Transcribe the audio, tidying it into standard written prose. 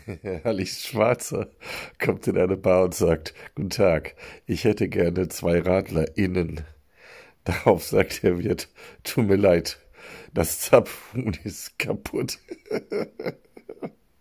Alice Schwarzer kommt in eine Bar und sagt, Guten Tag, ich hätte gerne zwei RadlerInnen. Darauf sagt der Wirt, tut mir leid, das Zapfhuhn ist kaputt.